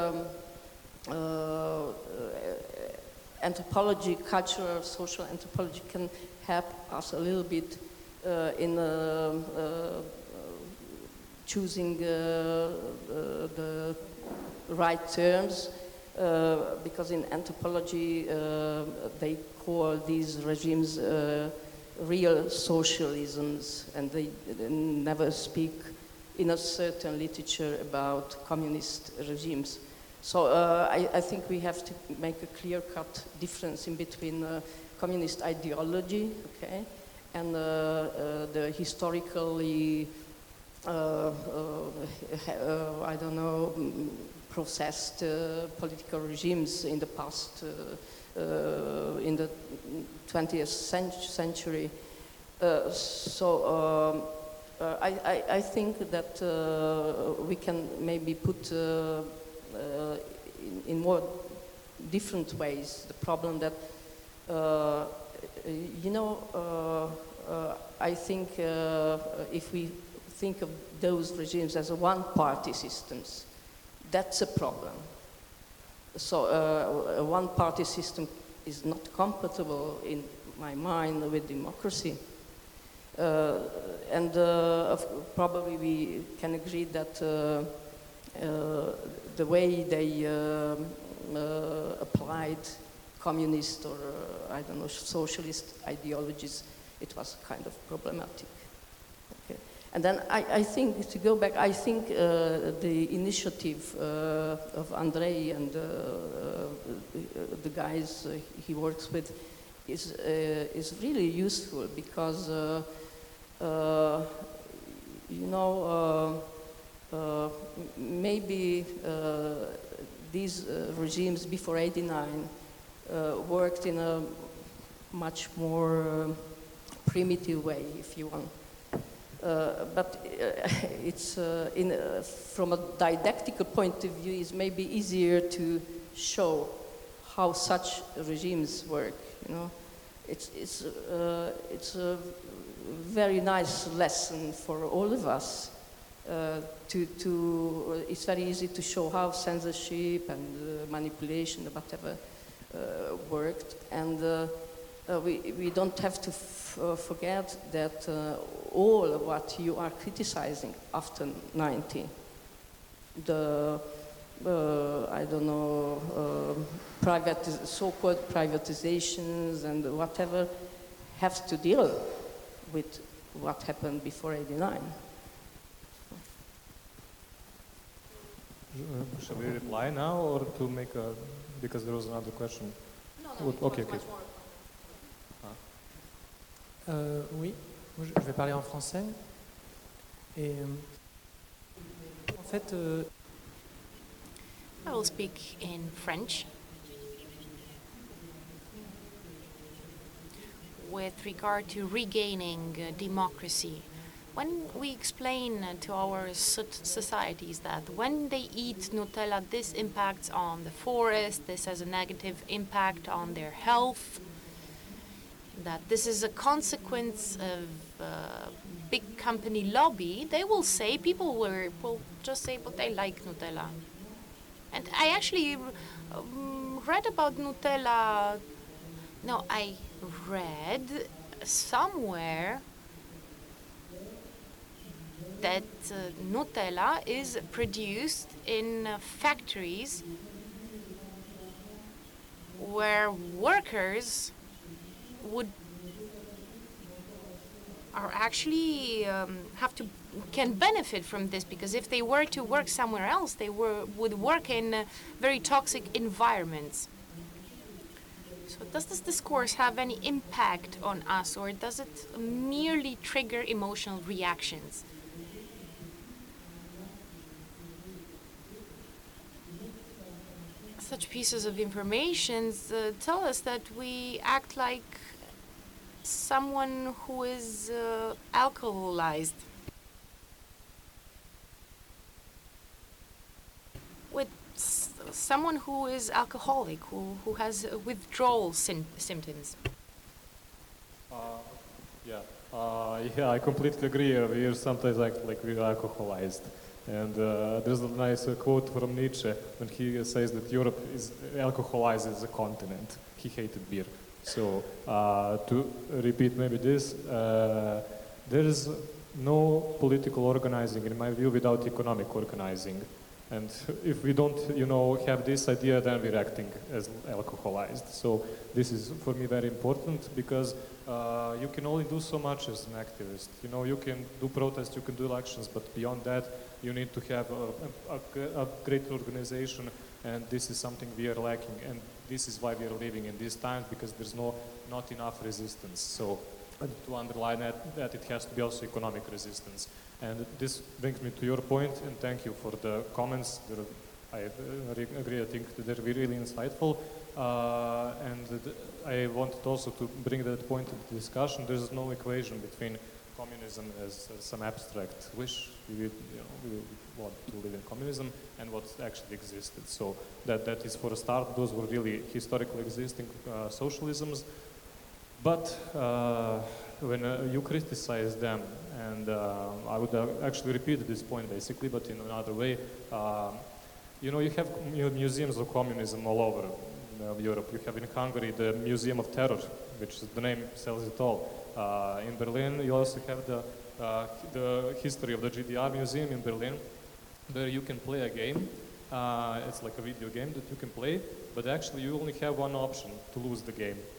anthropology, cultural, social anthropology can help us a little bit in choosing the right terms, because in anthropology they call these regimes real socialisms, and they never speak in a certain literature about communist regimes. So I think we have to make a clear-cut difference in between communist ideology, okay, and the historically, I don't know, processed political regimes in the past, in the 20th century. I think that we can maybe put in more different ways the problem that, I think if we think of those regimes as one-party systems, that's a problem. So a one-party system is not compatible in my mind with democracy. And probably we can agree that the way they applied communist or, I don't know, socialist ideologies it was kind of problematic. Okay. And then I think, to go back, I think the initiative of Andrei and the guys he works with is really useful because, you know, maybe these regimes before '89 worked in a much more primitive way, if you want. But it's from a didactical point of view, it's maybe easier to show how such regimes work. You know, it's a very nice lesson for all of us. It's very easy to show how censorship and manipulation, whatever, worked, and we don't have to forget that all of what you are criticizing after '90, the I don't know, so-called privatizations and whatever, have to deal with what happened before '89. Shall we reply now or to make a, because there was another question? No, Okay, okay. Oui, moi, je vais parler en français. Et en fait, I will speak in French. With regard to regaining democracy, when we explain to our societies that when they eat Nutella, this impacts on the forest, this has a negative impact on their health, that this is a consequence of big company lobby, they will say, people will just say, but they like Nutella. And I actually read about Nutella. No, I read somewhere that Nutella is produced in factories where workers are actually can benefit from this, because if they were to work somewhere else, they would work in very toxic environments. So does this discourse have any impact on us, or does it merely trigger emotional reactions? Such pieces of information tell us that we act like someone who is alcoholized, with someone who is alcoholic, who has withdrawal symptoms. Yeah, I completely agree. We are sometimes like we are alcoholized. And there's a nice quote from Nietzsche when he says that Europe is alcoholized as a continent. He hated beer. So to repeat maybe this, there is no political organizing, in my view, without economic organizing. And if we don't, have this idea, then we're acting as alcoholized. So this is, for me, very important, because you can only do so much as an activist. You can do protests, you can do elections, but beyond that, you need to have a great organization, and this is something we are lacking. And this is why we are living in these times, because there's not enough resistance. So to underline that it has to be also economic resistance. And this brings me to your point, and thank you for the comments. I agree, I think that they're really insightful. And I wanted also to bring that point into discussion. There's no equation between communism as some abstract wish, we want to live in communism, and what actually existed. So that is, for a start, those were really historically existing socialisms. But when you criticize them, and I would actually repeat this point basically, but in another way, you have museums of communism all over Europe. You have in Hungary the Museum of Terror, which the name tells it all. In Berlin, you also have the history of the GDR Museum in Berlin, where you can play a game. It's like a video game that you can play, but actually you only have one option to lose the game.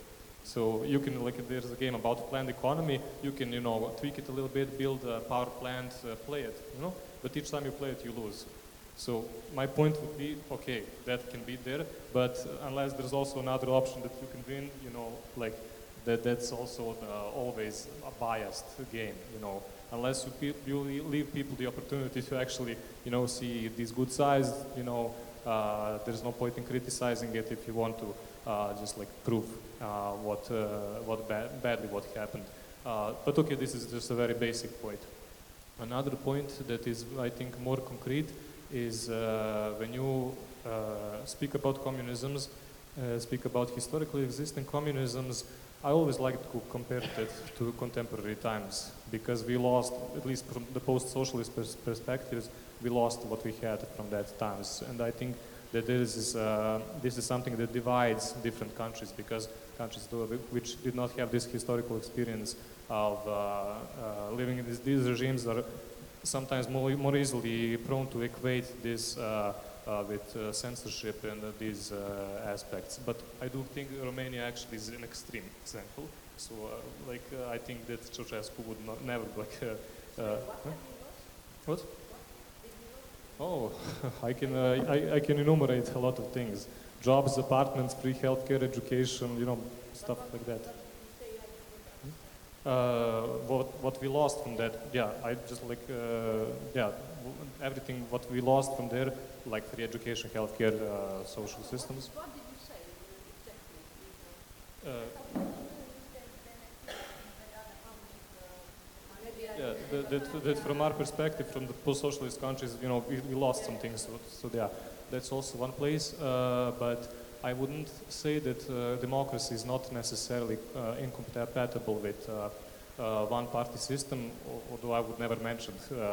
So you can, like, there's a game about planned economy. You can, tweak it a little bit, build a power plant, play it, But each time you play it, you lose. So my point would be, okay, that can be there, but unless there's also another option that you can win, that's also always a biased game, Unless you leave people the opportunity to actually, see these good sides, there's no point in criticizing it if you want to just like prove badly what happened. But okay, this is just a very basic point. Another point that is, I think, more concrete is when you speak about communisms, speak about historically existing communisms, I always like to compare it to contemporary times, because we lost, at least from the post-socialist perspectives, we lost what we had from that times. And I think that this is something that divides different countries, because countries which did not have this historical experience of living in these regimes are sometimes more easily prone to equate this with censorship and these aspects. But I do think Romania actually is an extreme example. So, I think that Ceausescu would never What? Oh, I can enumerate a lot of things: jobs, apartments, free healthcare, education, stuff like that. What we lost from that, everything what we lost from there, like free education, healthcare, social systems. What did you say exactly? That from our perspective, from the post-socialist countries, we lost some things. So yeah, that's also one place. But I wouldn't say that democracy is not necessarily incompatible with one-party system, although I would never mention.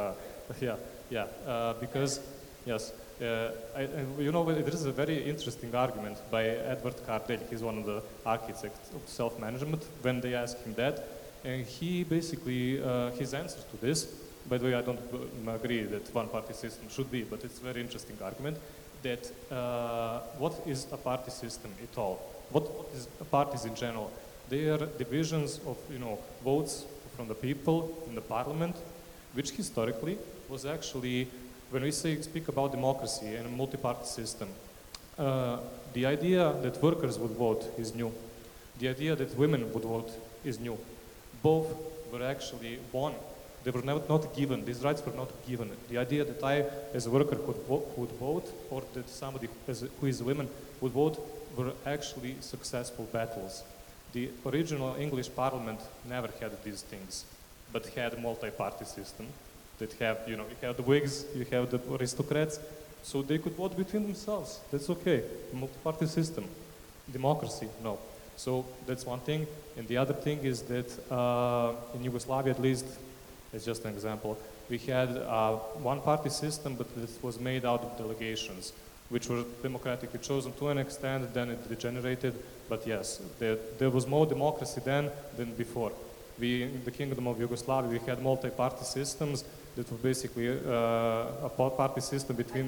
Because yes, there is a very interesting argument by Edward Cardell. He's one of the architects of self-management. When they ask him that, and he basically, his answer to this, by the way, I don't agree that one-party system should be, but it's a very interesting argument, that what is a party system at all? What is parties in general? They are divisions of, votes from the people in the parliament, which historically was actually, when we speak about democracy and a multi-party system, the idea that workers would vote is new. The idea that women would vote is new. Both were actually won. They were not given. These rights were not given. The idea that I, as a worker, could vote, or that somebody who is a woman would vote, were actually successful battles. The original English Parliament never had these things, but had a multi-party system that you have the Whigs, you have the aristocrats, so they could vote between themselves. That's okay. Multi-party system. Democracy, no. So that's one thing. And the other thing is that in Yugoslavia, at least, as just an example, we had one-party system, but this was made out of delegations, which were democratically chosen to an extent, then it degenerated. But yes, there was more democracy then than before. In the Kingdom of Yugoslavia, we had multi-party systems that were basically a party system between...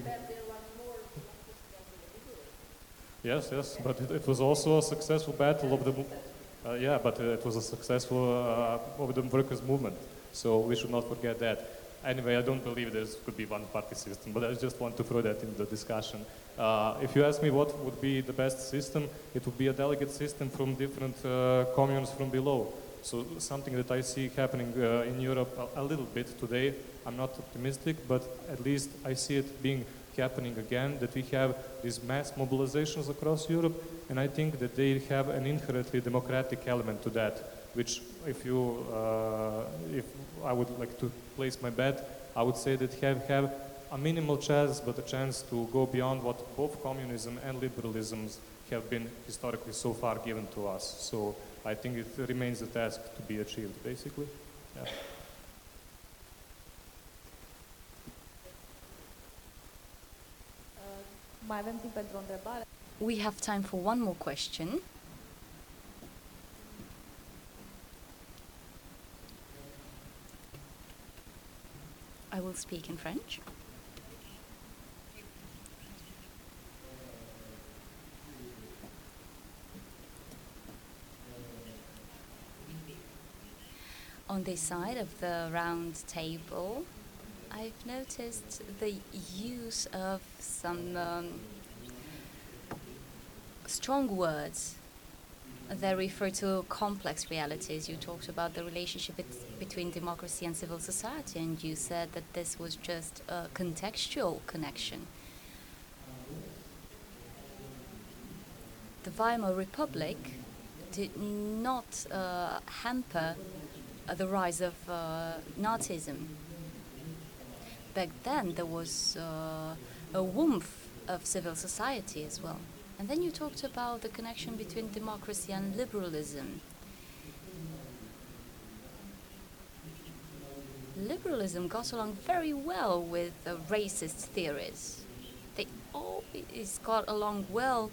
Yes, but it was also a successful battle of the... but it was a successful of the workers' movement. So we should not forget that. Anyway, I don't believe there could be one-party system, but I just want to throw that in the discussion. If you ask me what would be the best system, it would be a delegate system from different communes from below. So something that I see happening in Europe a little bit today. I'm not optimistic, but at least I see it being happening again, that we have these mass mobilizations across Europe, and I think that they have an inherently democratic element to that, which if I would like to place my bet, I would say that have a minimal chance, but a chance to go beyond what both communism and liberalism have been historically so far given to us. So I think it remains a task to be achieved, basically. Yeah. Mai avem timp pentru o întrebare. We have time for one more question. I will speak in French. on this side of the round table, I've noticed the use of some strong words that refer to complex realities. You talked about the relationship between democracy and civil society, and you said that this was just a contextual connection. The Weimar Republic did not hamper the rise of Nazism. Back then, there was a warmth of civil society as well. And then you talked about the connection between democracy and liberalism. Liberalism got along very well with racist theories. They always got along well.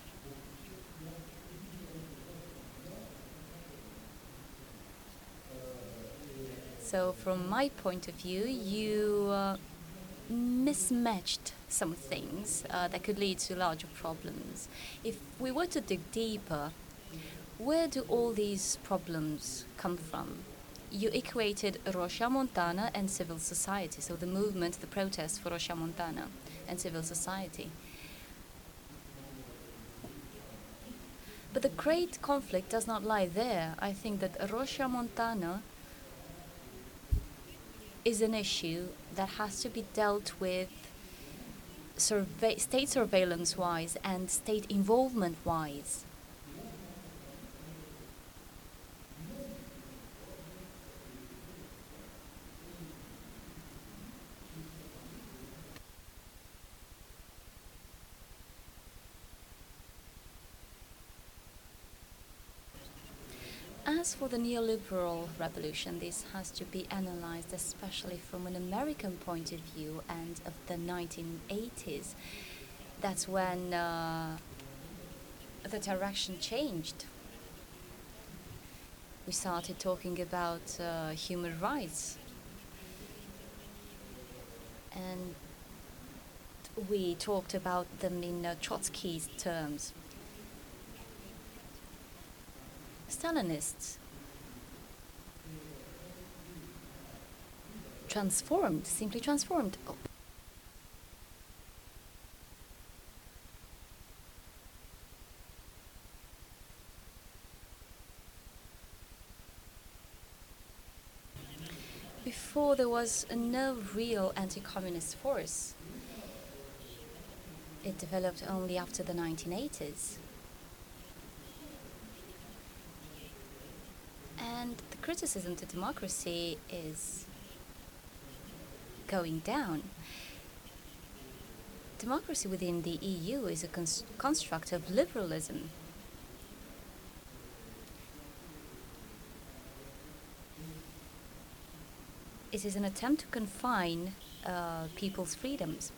So from my point of view, you mismatched some things that could lead to larger problems. If we were to dig deeper, where do all these problems come from? You equated Roșia-Montana and civil society, so the movement, the protest for Roșia-Montana and civil society. But the great conflict does not lie there. I think that Roșia-Montana is an issue that has to be dealt with state surveillance-wise and state involvement-wise. As for the neoliberal revolution, this has to be analyzed especially from an American point of view and of the 1980s. That's when the direction changed. We started talking about human rights. And we talked about them in Trotsky's terms. Stalinists simply transformed. Before, there was no real anti-communist force. It developed only after the 1980s. And the criticism to democracy is going down. Democracy within the EU is a construct of liberalism. It is an attempt to confine people's freedoms.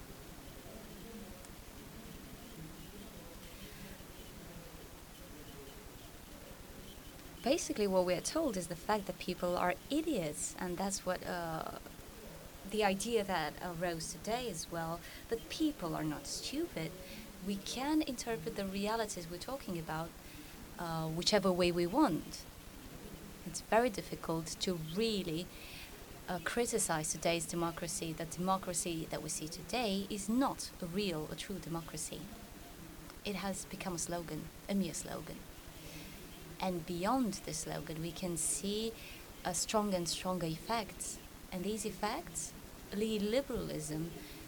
Basically, what we are told is the fact that people are idiots, and that's what the idea that arose today as well, that people are not stupid. We can interpret the realities we're talking about whichever way we want. It's very difficult to really criticize today's democracy. The democracy that we see today is not a true democracy. It has become a slogan, a mere slogan. And beyond the slogan, we can see stronger and stronger effects. And these effects lead liberalism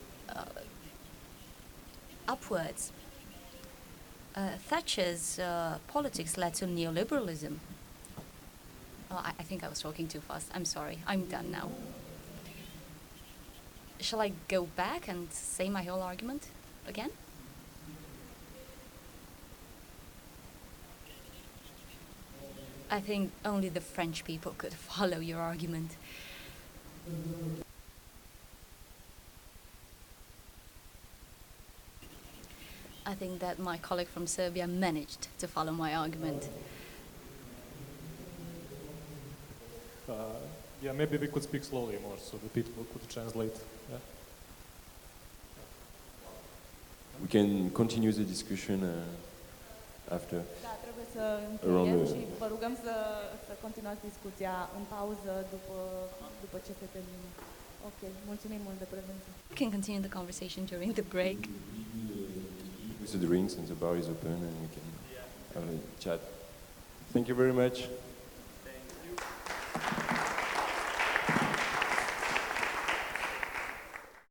upwards. Thatcher's politics led to neoliberalism. Oh, I think I was talking too fast. I'm sorry. I'm done now. Shall I go back and say my whole argument again? I think only the French people could follow your argument. I think that my colleague from Serbia managed to follow my argument. Yeah, maybe we could speak slowly more so the people could translate. Yeah. We can continue the discussion after. Da, trebuie să Around încheiem the- și vă rugăm să continuați discuția în pauză după ce se termină. Ok, mulțumim mult de prezență. We can continue the conversation during the break. With the drinks and the bar is open and we can have a chat. Thank you very much.